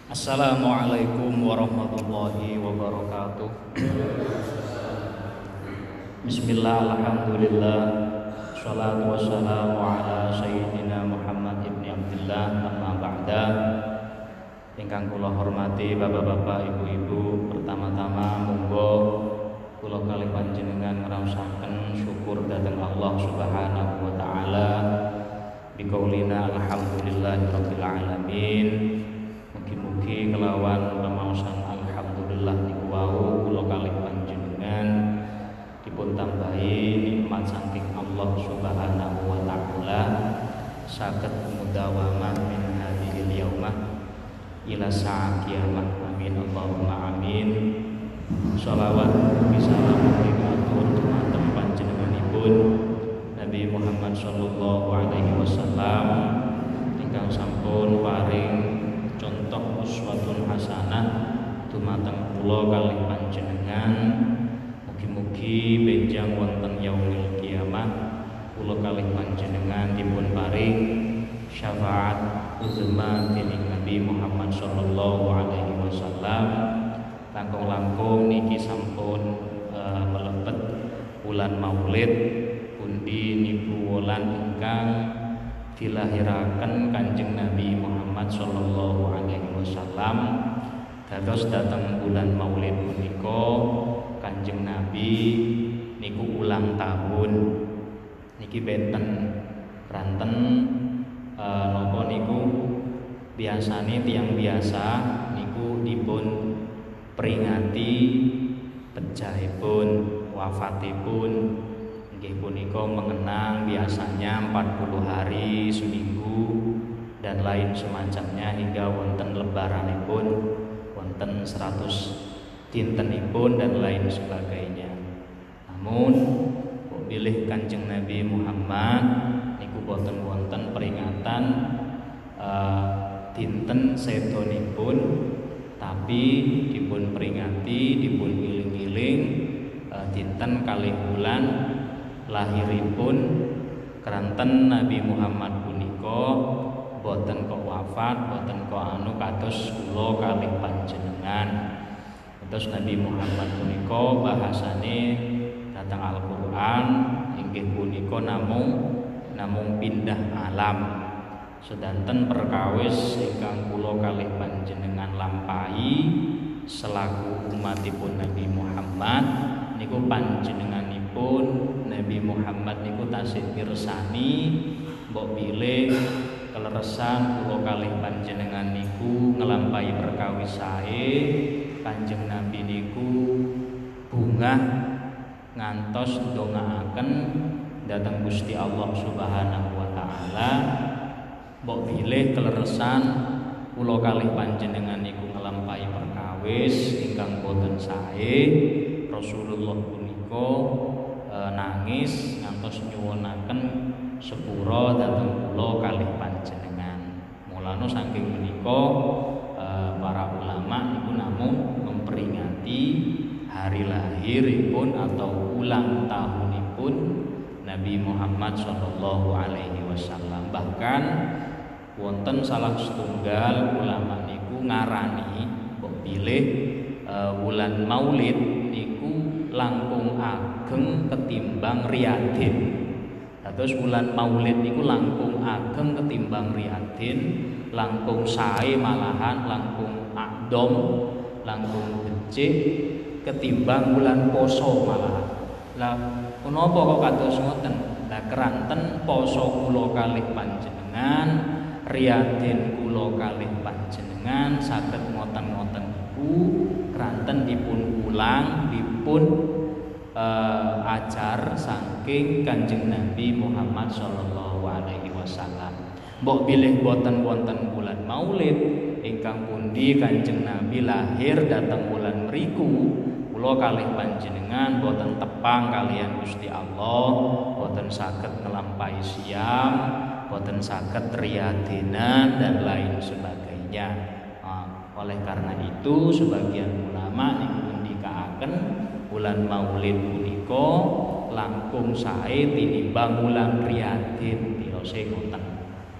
Assalamualaikum warahmatullahi wabarakatuh. Bismillah, alhamdulillah, salatu wassalamu ala sayyidina Muhammad ibn Abdillah, amma ba'da. Ingkang kula hormati bapak-bapak, ibu-ibu, pertama-tama monggo kula kalih panjenengan ngraosaken syukur dhateng Allah Subhanahu wa taala biqaulina alhamdulillahirabbil alamin. Mugi-mugi kelawan pamaosan alhamdulillah niku wau kula kalih panjenengan dipun tambahi nikmat saking Allah Subhanahu wa taala saged mudawamah min hadhil yaumah ila saat kiamat. Amin Allahumma amin. Shalawat bisalam katur dumateng panjenenganipun Nabi Muhammad sallallahu alaihi wasallam ingkang sampun paring contoh uswatun hasanah dumateng kula kalih panjenengan. Mugi-mugi benjang wonten yaumil kiamah kula kalih panjenengan dipun paring syafaat uzma dening Nabi Muhammad sallallahu alaihi wasallam. Langkung-langkung niki sampun melebet wulan Maulid pundi niku wulan ingkang dilahiraken Kanjeng Nabi Muhammad sallallahu alaihi wasallam. Dados dateng bulan Maulid punika Kanjeng Nabi niku ulang tahun. Niki benten ranten napa niku biasane tiyang biasa niku dipun peringati pejahipun wafatipun. Nggih punika mengenang biasanya 40 hari seminggu dan lain semacamnya hingga wonten lebaranipun wonten 100 dintenipun dan lain sebagainya. Namun kok bilih Kanjeng Nabi Muhammad niku boten wonten peringatan dinten sedonipun, tapi dipun peringati, dipun iling-iling dinten kalih bulan lahiripun keranten Nabi Muhammad punika boten kok wafat, boten kok kados kula kalih panjenengan. Terus Nabi Muhammad punika bahasane datang Al-Qur'an inggih punika namung pindah alam. Sedanten perkawis ingkang kula kalih panjenengan lampahi selaku umatipun Nabi Muhammad niku panjenenganipun Nabi Muhammad niku tasih mirsani mbok bilih keleresan kula kalih panjenengan niku ngelampahi perkawis sae. Kanjeng Nabi niku bungah ngantos ndongaaken dhateng Gusti Allah Subhanahu wa taala. Mbok bilih keleresan kula kalih panjenengan niku ngelampahi perkawis ingkang boten sae. Rasulullah punika nangis ngantos nyuwunaken sepura dhateng kula kalih panjenengan. Mulane saking menika para ulama niku namung memperingati hari lahiripun atau ulang tahunipun Nabi Muhammad sallallahu alaihi wasallam. Bahkan wonten salah setunggal ulama niku ngarani mbok bilih wulan Maulid niku langkung ageng ketimbang Riyadin. Terus wulan Maulid niku langkung ageng ketimbang Riyadin, langkung sae malahan langkung adom, langkung becik ketimbang bulan poso malahan. Lah menapa kok kados ngoten? Lah keranten poso kula kalih panjenengan, Riyadin kula kalih panjenengan saged ngoten-ngoten iku keranten dipun ulang, dipun ajar saking Kanjeng Nabi Muhammad sallallahu alaihi wasallam. Mbok bilih boten wonten bulan Maulid ingkang pundi Kanjeng Nabi lahir dhateng bulan mriku, kula kalih panjenengan boten tepang kalian Gusti Allah, boten saged ngelampahi siam, boten saged riyadinan dan lain sebagainya. Oleh karena itu sebagian ulama niku ngendikaaken bulan Maulid punika langkung sae tinimbang bulan Riyadin tirose ngoten. Nah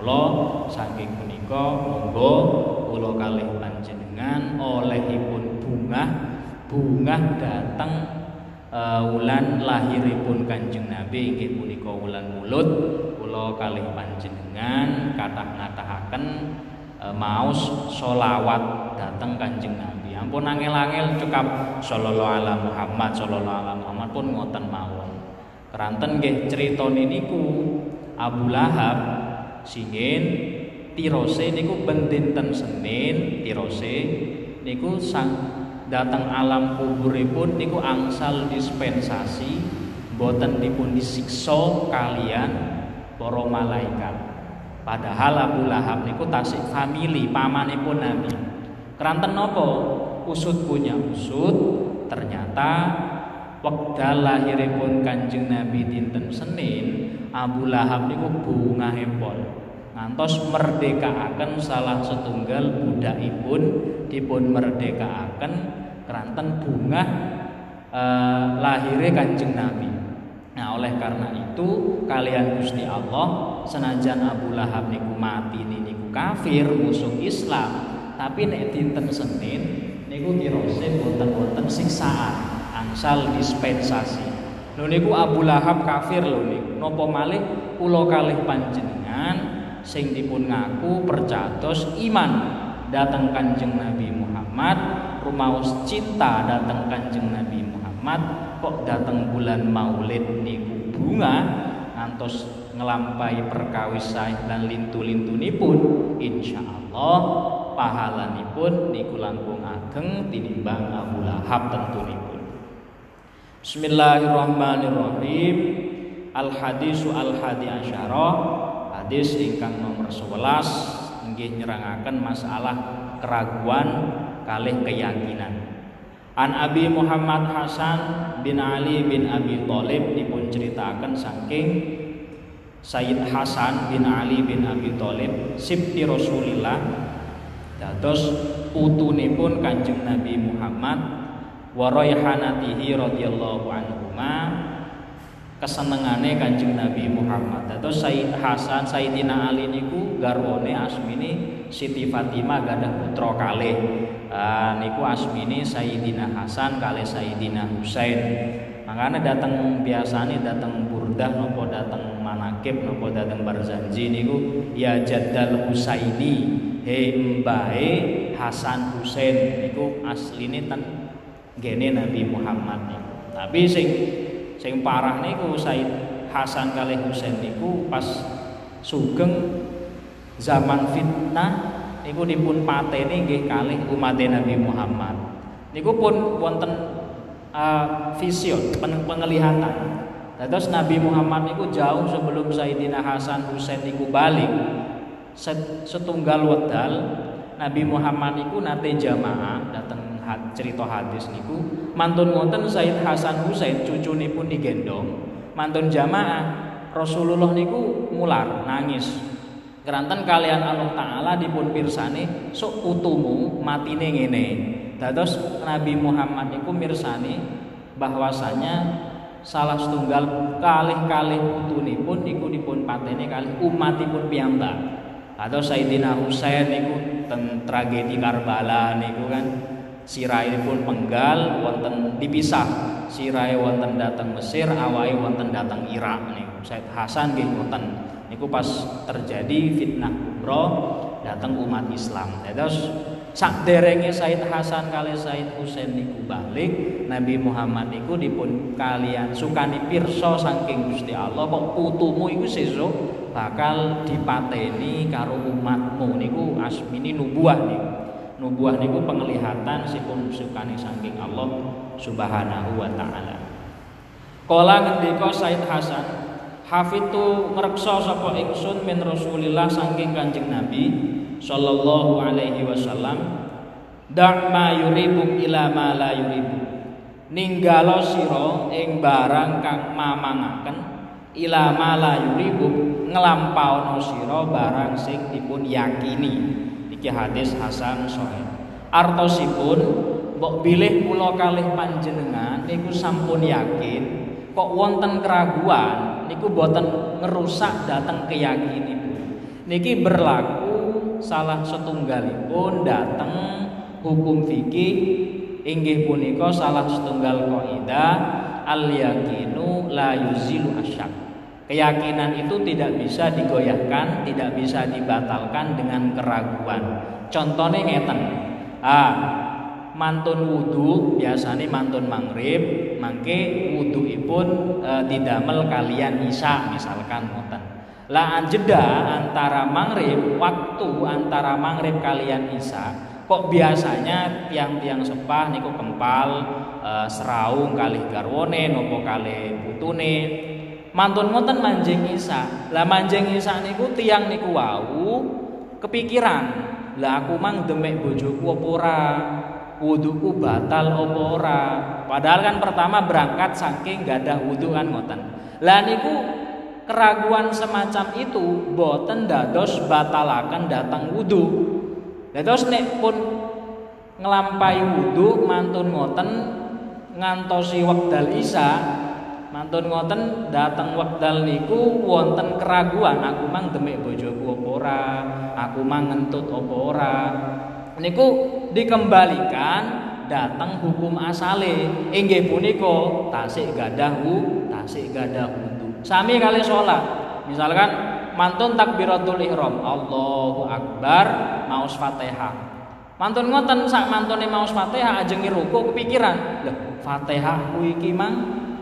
kula. Saking punika monggo kula kalih panjenengan olehipun bungah dateng wulan lahiripun Kanjeng Nabi inggih punika wulan Mulud. Kula kalih panjenengan kathah ngatahaken maos sholawat dateng Kanjeng Nabi. Ampun angel-angel cekap sallallahu ala Muhammad pun ngoten mawon. Keranten nggih critane niku Abu Lahab singin tirose niku ben dinten Senin tirose niku sang dateng alam kuburipun niku angsal dispensasi boten dipun disiksa kalian para malaikat. Padahal Abu Lahab niku tasik famili pamanipun Nabi. Keranten napa? Usut punya usut, ternyata wekdal lahiripun Kanjeng Nabi dinten Senin, Abu Lahab niku bungahipun ngantos merdekaaken salah setunggal budakipun dipun merdekaaken keranten bungah lahire Kanjeng Nabi. Nah, oleh karena itu kalian Gusti Allah senajan Abu Lahab niku mati niku kafir musuh Islam, tapi nek dinten Senin niku tirose boten-boten siksaan, angsal dispensasi. Lho niku Abu Lahab kafir lho niku. Napa malih kula kalih panjenengan sing dipun ngaku percados iman dhateng Kanjeng Nabi Muhammad, rumaos cinta dhateng Kanjeng Nabi Muhammad, kok dateng bulan Maulid niku bunga ngantos ngelampahi perkawis sae lan lintu-lintunipun, insyaallah pahalanipun niku langkung ageng tinimbang Abu Lahab tentunipun. Bismillahirrahmanirrahim. Al-hadisu al-hadi asyara, hadis ingkang nomor 11 inggih nyerangaken masalah keraguan kalih keyakinan. An Abi Muhammad Hasan bin Ali bin Abi Thalib dipun ceritakan saking Sayyid Hasan bin Ali bin Abi Thalib sibti Rasulillah, dados putunipun Kanjeng Nabi Muhammad, wa raihanatihi radhiyallahu anhuma, kesenengane Kanjeng Nabi Muhammad. Dados Sayyid Hasan Sayyidina Ali niku garwane asmini Siti Fatimah gadah putra kalih. Niku asmini Sayyidina Hasan kalih Sayyidina Husain. Makanya datang biasane datang burdah nopo datang manakib nopo datang barzanji niku ya Jaddal Husaini, he mbae Hasan Husain niku asline ten gene Nabi Muhammad niku. Tapi sing parah niku Sayyid Hasan kalih Husain niku pas sugeng zaman fitnah niku dipun pateni nggih kalih umat Nabi Muhammad. Niku pun wonten vision, penglihatan. Dados Nabi Muhammad niku jauh sebelum Sayyidina Hasan Husain niku balik. Setunggal wedal Nabi Muhammad niku nate jamaah dateng cerita hadis niku mantun wonten Sayyid Hasan Husain cucunipun digendong mantun jamaah. Rasulullah niku mular nangis. Keranten kalian Allah Ta'ala dipun pirsani sok putumu matine ngene. Dados Nabi Muhammad niku mirsani bahwasanya salah setunggal kalih-kalih putunipun niku dipun pateni kalih umatipun piyambak. Dados Sayyidina Husain niku ten tragedi Karbala niku kan sirahipun penggal wonten dipisah. Sirahe wonten dhateng Mesir, awake wonten dhateng Irak niku. Sayyid Hasan nggih ngoten. Niku pas terjadi fitnah kubra datang umat Islam. Terus sakderenge Sayyid Hasan kali Sayyid Husain niku balik, Nabi Muhammad niku dipun kalian sukani pirsa saking Gusti Allah kok putumu iku sesuk bakal dipateni karo umatmu niku asmini nubuah niku. Nubuah niku penglihatan sipun sukani saking Allah Subhanahu wa taala. Kala ngendika Sayyid Hasan, hafitu ngreksa sapa ingsun min Rasulillah saking Kanjeng Nabi sallallahu alaihi wasallam, da' ma yuribuk ila ma la yuribuk, ninggalo sira ing barang kang mamangaken, ila ma la yuribuk nglampauna sira barang sing dipun yakini. Iki hadis hasan sahih. Artosipun mbok bilih kula kalih panjenengan niku sampun yakin kok wonten keraguan niku boten ngerusak dateng keyakinipun. niki berlaku salah setunggalipun dateng hukum fikih inggih punika salah setunggal kaidah al yakinu la yuzilu asyak. Keyakinan itu tidak bisa digoyahkan, tidak bisa dibatalkan dengan keraguan. Contohnya ngeten. Mantun wudu biasanya mantun maghrib, mangke wuduipun didamel kalian isya misalkan ngoten. Lah jeda antara maghrib, waktu antara maghrib kalian isya, kok biasanya tiang-tiang sepah niku kempal seraung kalih garwone nopo kalih putune mantun ngoten manjing isya. Lah manjing isya niku tiang niku wau kepikiran, lah aku mang demek bojoku apa ora, wuduku batal apa ora. Padahal kan pertama berangkat saking gadah wudu kan ngoten. Lah niku keraguan semacam itu boten dados batalaken datang wudu. Dados nek pun ngelampai wudu mantun ngoten ngantosi wekdal isya, mantun ngoten dateng wekdal niku wonten keraguan, aku mang demek bojoku apa ora, aku mang ngentut apa ora. Niku dikembalikan dateng hukum asale inggih punika tasik gadah wudu. Sami kali salat. Misalkan mantun takbiratul ihram, Allahu akbar, maos Fatihah. Mantun ngoten sak mantune maos Fatihah ajeng ruku kepikiran, lho Fatihah kuwi iki mang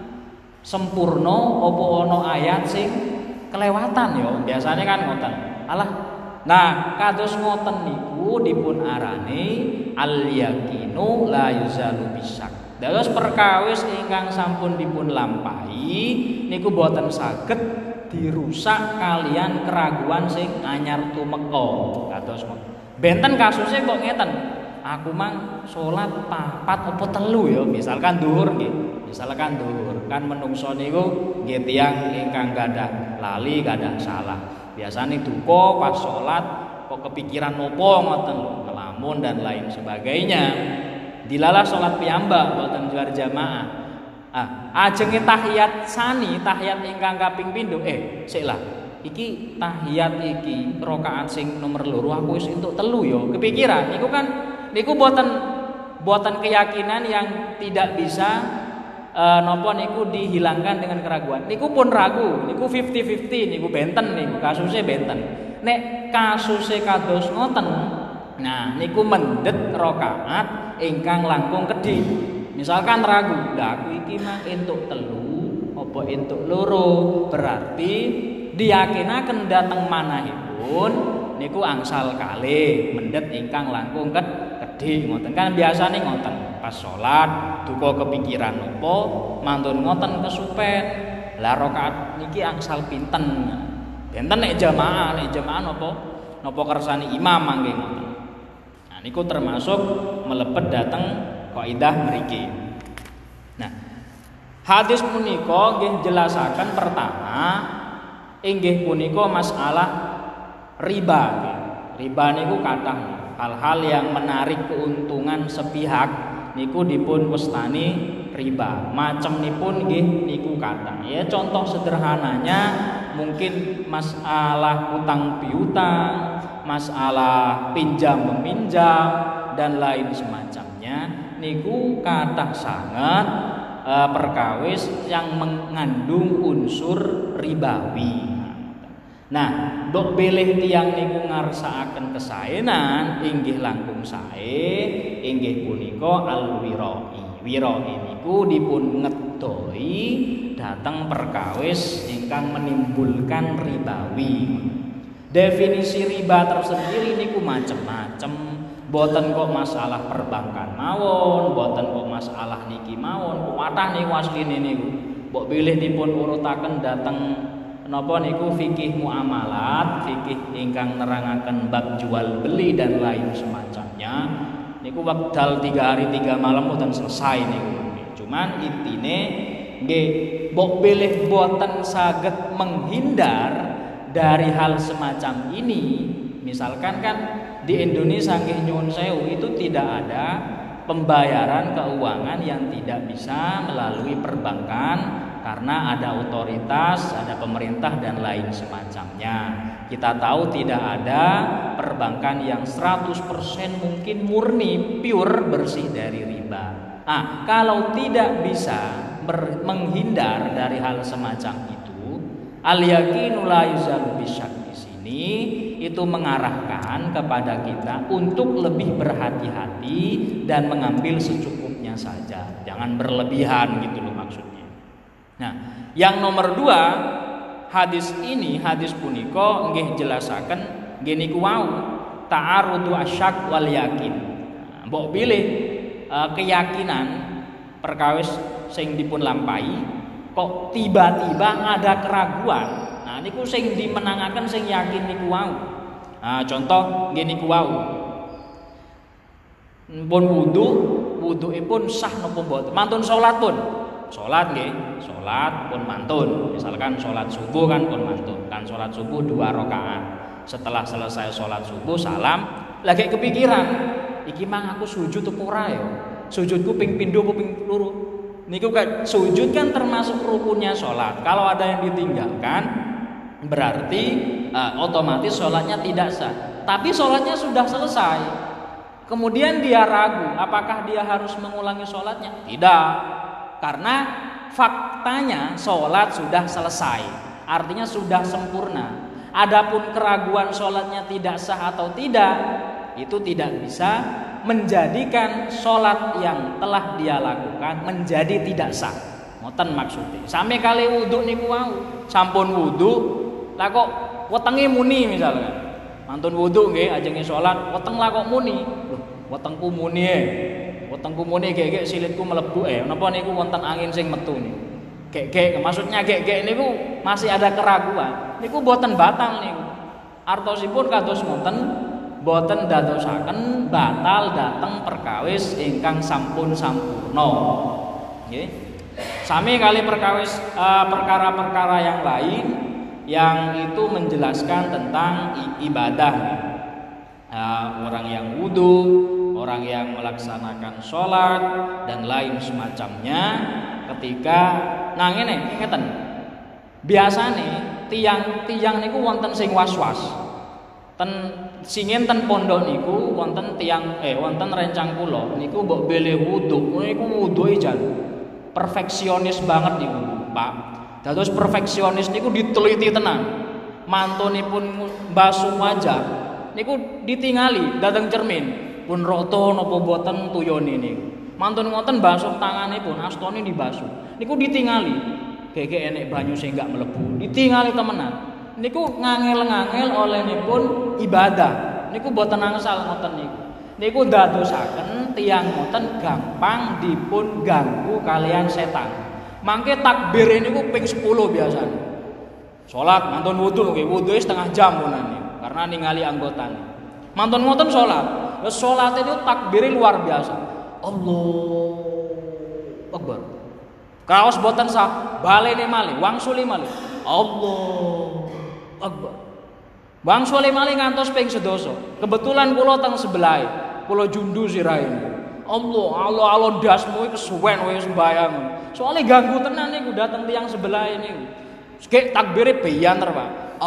sempurna apa ana ayat sing kelewatan ya. Biasanya kan ngoten. Alah. Nah, kados ngoten niku dipun arani al yakinu la yuzalu bisyak. Dados perkawis ingkang sampun dipun lampahi niku boten saged dirusak kalian keraguan sing anyar tumeka. Kados benten kasusnya kok ngeten. Aku mang salat papat apa telu ya, misalkan dhuwur nggih. Misalkan dhuwur, kan menungso niku nggih tiyang ingkang gadah lali, gadah salah. Biasane duka pas salat kok kepikiran nopo ngoten lho, ngelamun dan lain sebagainya. Dilalah salat piyambak boten juar jamaah. Ajenge tahiyat sani, tahiyat ingkang kaping pindho, sik lah. Iki tahiyat iki rakaat sing nomor loro aku wis entuk telu ya. Kepikiran niku kan niku boten keyakinan yang tidak bisa napa niku dihilangkan dengan keraguan. Niku pun ragu, niku 50-50, niku benten niku kasusnya benten. Nek kasusnya kados ngoten, nah niku mendet rakaat ingkang langkung kedhi. Misalkan ragu, lah aku iki mah entuk telu apa entuk loro, berarti diyakinaken dateng manahipun niku angsal kalih mendet ingkang langkung kedhi ngoten. Kan biasane ngoten. Pas salat duka kepikiran napa mantun ngoten kesupen. Lah rakaat niki angsal pinten. Benten nek jamaah napa kersane imam mangke ngoten. Nah niku termasuk melepet dateng kaidah mriki. Nah, hadis punika nggih jelasaken pertama inggih punika masalah riba. Riba niku kathah hal-hal yang menarik keuntungan sepihak niku dipun wastani riba. Macemnipun nggih niku kathah. Ya contoh sederhananya mungkin masalah utang piutang, masalah pinjam meminjam dan lain semacamnya niku kathah sangat perkawis yang mengandung unsur ribawi. Nah, dok bilih tiang niku ngarsakaken kesaenan inggih langkung sae inggih punika al-wirai. Wirai niku dipun ngedoi dateng perkawis ingkang menimbulkan ribawi. Definisi riba tersendiri niku macem-macem. Boten kok masalah perbankan mawon, boten kok masalah niki mawon. Kuwatah niku asline niku. Mbok bilih dipun urutaken dateng napa niku fikih muamalat, fikih ingkang nerangaken bab jual beli dan lain semacamnya. Niku wekdal 3 hari 3 malam boten selesai niku. Cuman intine nggih mbok bilih boten saged menghindar dari hal semacam ini. Misalkan kan di Indonesia nggih nyuwun sewu itu tidak ada pembayaran keuangan yang tidak bisa melalui perbankan karena ada otoritas, ada pemerintah dan lain semacamnya. Kita tahu tidak ada perbankan yang 100% mungkin murni pure bersih dari riba. Nah, kalau tidak bisa menghindar dari hal semacam itu, al-yaqinu la yuzalu bisyak di sini itu mengarahkan kepada kita untuk lebih berhati-hati dan mengambil secukupnya saja, jangan berlebihan gitu loh maksudnya. Nah, yang nomor 2, hadis punika nggih jelasaken nggih niku wau ta'arudu asyak wal yakin. Mbok pilih keyakinan perkawis sing dipun lampahi kok tiba-tiba ada keraguan. Nah niku sing dimenangaken sing yakin niku wau. Nah contoh nggih niku wau. Pun wuduipun sah napa mboten? Mantun salat pun. Salat nggih, salat pun mantun. Misalkan salat subuh kan pun mantun. Kan salat subuh 2 rakaat. Setelah selesai salat subuh salam, lagi kepikiran, iki mang aku sujud apa ora ya? Sujudku ping pindho apa ping loro? Niku kan sujud kan termasuk rukunnya sholat. Kalau ada yang ditinggalkan berarti otomatis sholatnya tidak sah. Tapi sholatnya sudah selesai. Kemudian dia ragu apakah dia harus mengulangi sholatnya? Tidak. Karena faktanya sholat sudah selesai. Artinya sudah sempurna. Adapun keraguan sholatnya tidak sah atau tidak, itu tidak bisa menjadikan sholat yang telah dia lakukan menjadi tidak sah. Ngoten maksudnya. Sampai kali wudu niku wau, sampun wudu, lah kok wetenge muni misalkan. Mantun wudu nggih ajenge sholat, weteng lah kok muni. Loh, wetengku muni wetengku muni gek-gek silitku mlebu napa niku wonten angin sing metu niku. Gek-gek maksudnya gek-gek niku masih ada keraguan. Niku boten batal niku. Artosipun kados ngoten, boten dadosaken batal dateng perkawis ingkang sampun sampurna. Nggih. Sami kali perkawis perkara-perkara yang lain yang itu menjelaskan tentang ibadah. Orang yang wudu, orang yang melaksanakan sholat dan lain semacamnya ketika ngene ngeten. Biasane tiang-tiang niku wonten sing was-was. Singin ten pondok niku wonten tiang wonten rencang kula niku mbok bele wudu niku wuduhe jan perfeksionis banget niku Pak. Dados perfeksionis niku diteliti tenan. Mantunipun basuh wajah niku ditingali dateng cermin pun roto napa boten tuyone niku. Mantun ngoten basuh tanganipun astone dibasuh. Niku ditingali. Gege enek banyu sing gak mlebu. Ditingali temenan. Niku ngangel-ngangel olehipun ibadah. Niku boten angsal ngoten niku. Niku dadosaken tiyang ngoten gampang dipun ganggu kalian setan. Mangke takbir niku ping 10 biasane. Salat mantun wudu nggih, wudu setengah jam punan niku karena ningali anggotane. Mantun ngoten salat. Wis salat itu takbire luar biasa. Allahu Akbar. Kaos boten sah, balene malih, wangsuli malih. Allahu Akbar. Wangsuli malih ngantos ping 11. Kebetulan kula teng sebelahe, kula jundu sirahe. Allah dasmu iki kesuwen wis sembayang. Soale ganggu tenan niku dateng tiyang sebelahe niku. Sik takbire beyanter, Pak.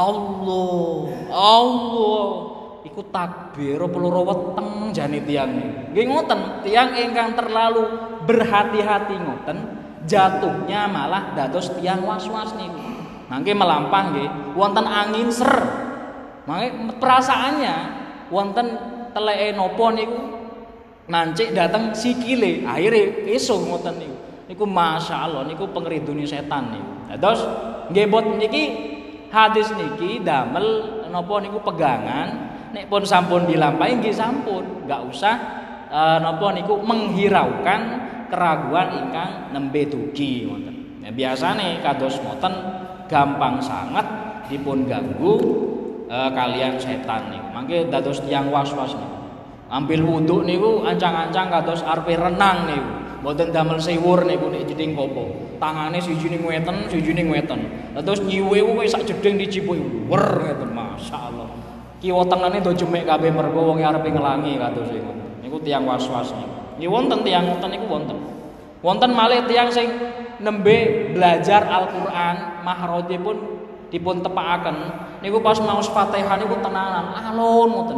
Allah. Iku takbir peloro weteng jane tiyang niku. Nggih ngoten, tiyang ingkang terlalu berhati-hati ngoten, jatuhnya malah dados tiyang was-was niku. Mangke melampah nggih, wonten angin ser. Mangke perasaannya wonten teleke napa niku nancik dateng sikile. Akhire esuk ngoten niku. Niku masyaallah niku pengridune setan niku. Dados nggih bot niki hadis niki damel napa niku pegangan nek pun sampun dilampahi nggih sampun, enggak usah napa niku menghiraukan keraguan ingkang nembe dugi ngoten. Nah, biasane kados ngoten gampang sangat dipun ganggu kalian setan niku. Mangke dados tiyang was-was niku. Ambil wudu niku ancang-ancang kados arepe renang niku. Mboten damel siwur niku nek jeding kopo. Tangane sijine ngweten, sijine ngweten. Terus nyiwe kuwi sak jeding dicipuki. Wer ngeten masyaallah. Kiwa tengene do jemek kabeh mergo wong arepe ngelangi kados ngoten. Niku tiyang was-was niku. Nggih wonten tiyang ngoten niku wonten. Wonten malih tiyang sing nembe belajar Al-Qur'an mahroje pun dipun tepakaken niku pas maos Fatihah niku tenanan alon ngoten.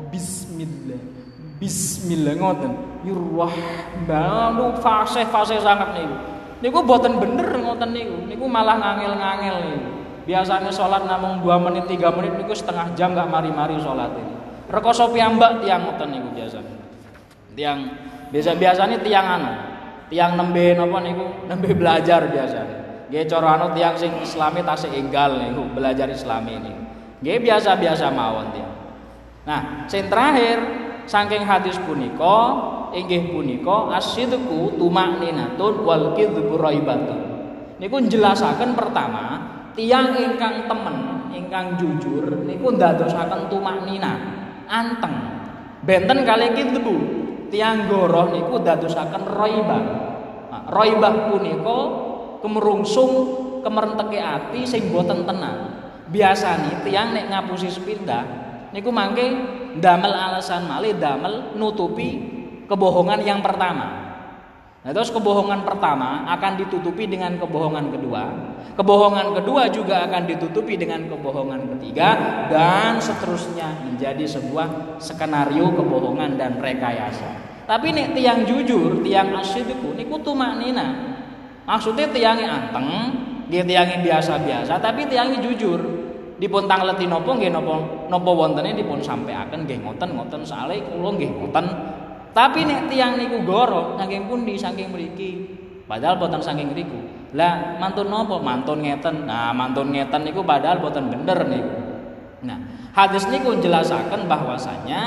Bismillah ngoten. Yurrahmanu fasih sangat niku. Niku boten bener ngoten niku. Niku malah ngangel-ngangel niku. Biasanya sholat namung 2 menit 3 menit niku setengah jam gak mari-mari sholat ini. Rekoso piyambak tiang ngoten niku biasanya. Tiang biasanya tiang nembe napa niku nembe belajar biasanya. Nggih cara anu tiang sing islami tasih enggal niku belajar islami niku. Nggih biasa-biasa mawon tiang. Nah, sing terakhir saking hadis punika inggih punika asidku tumakninatun wal kidzu raibatun. Niku njelasaken pertama tiyang ingkang temen, ingkang jujur niku ndadosaken tumaknina, anteng. Benten kalih kidzu. Tiyang goroh niku ndadosaken raibah. Nah, raibah punika kemerungsung kemerenteke ati sing boten tenang. Biasane tiyang nek ngapusi sepindah niku mangke damel alasan malih damel nutupi kebohongan yang pertama. Nah, terus kebohongan pertama akan ditutupi dengan kebohongan kedua. Kebohongan kedua juga akan ditutupi dengan kebohongan ketiga dan seterusnya menjadi sebuah skenario kebohongan dan rekayasa. Tapi nek tiang jujur, tiang asyidku niku tumaknina. Maksudnya tiangnya anteng, dia tiangnya biasa-biasa tapi tiangnya jujur. Dipun tangleti napa nggih napa wontene dipun sampaiaken nggih ngoten sale kula nggih ngoten. Tapi nek tiyang niku goro saking pundi saking mriki. Padahal boten saking mriku. Lah mantun napa? Mantun ngeten. Nah, mantun ngeten niku padahal boten bener niku. Nah, hadis niku njelasaken bahwasanya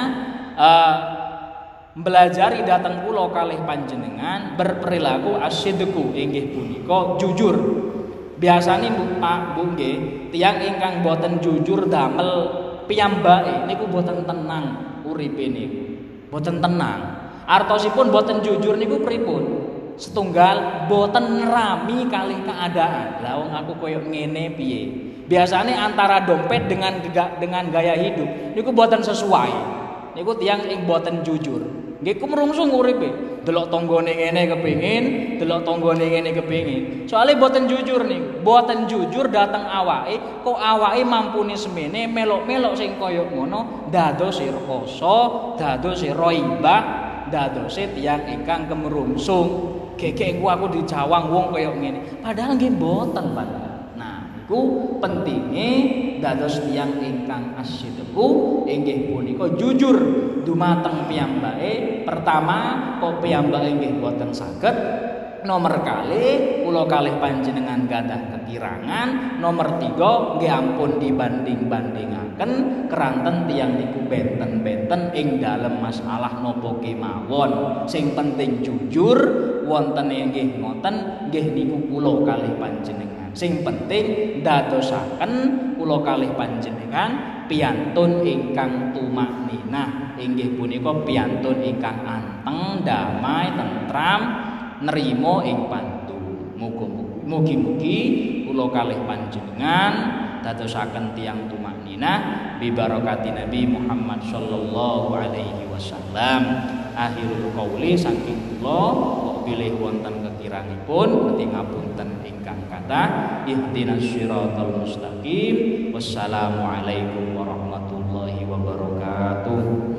belajari dateng kula kalih panjenengan berperilaku asyidku inggih punika jujur. Biasane Pak Bu nggih, tiyang ingkang boten jujur damel piyambake niku boten tenang uripe niku. Boten tenang. Artosipun boten jujur niku pripun? Setunggal boten nerami kalih keadaan. Lah wong aku koyo ngene piye? Biasane antara dompet dengan gaya hidup niku boten sesuai. Niku tiyang ing boten jujur. Nggih kumrungsung uripe. Delok tanggane ngene kepengin, delok tanggane ngene kepengin. Soale boten jujur nih, boten jujur dateng awake, kok awake mampuni semene melok-melok sing kaya ngono, dadosi rekoso, dadosi raibah, dadosi tiyang ingkang kemerungsung. Gegek aku dicawang wong kaya ngene. Padahal nggih boten padahal. Nah, iku pentinge dados tiyang ingkang asyidku inggih punika jujur dumateng piyambake. Pertama kok piyambake nggih boten saged. Nomor kalih kula kalih panjenengan gadah kekirangan. Nomor 3 nggih ampun dibanding-bandingaken keranten tiyang niku benten-benten ing dalem masalah napa kemawon. Sing penting jujur wontene nggih ngoten nggih niku kula kalih panjenengan. Sing penting dadosaken kula kalih panjenengan piyantun ingkang tumakninah inggih punika piyantun ingkang anteng, damai, tentram, nerima ing pantun. Mugi-mugi kula kalih panjenengan dadosaken tiyang tumakninah bi barakati Nabi Muhammad sallallahu alaihi wasallam. Akhirul qauli saking kula bilih wonten kekirangipun ngeting ngapunten ingkang kathah. Ihdinas siratal mustaqim. Wassalamualaikum warahmatullahi wabarakatuh.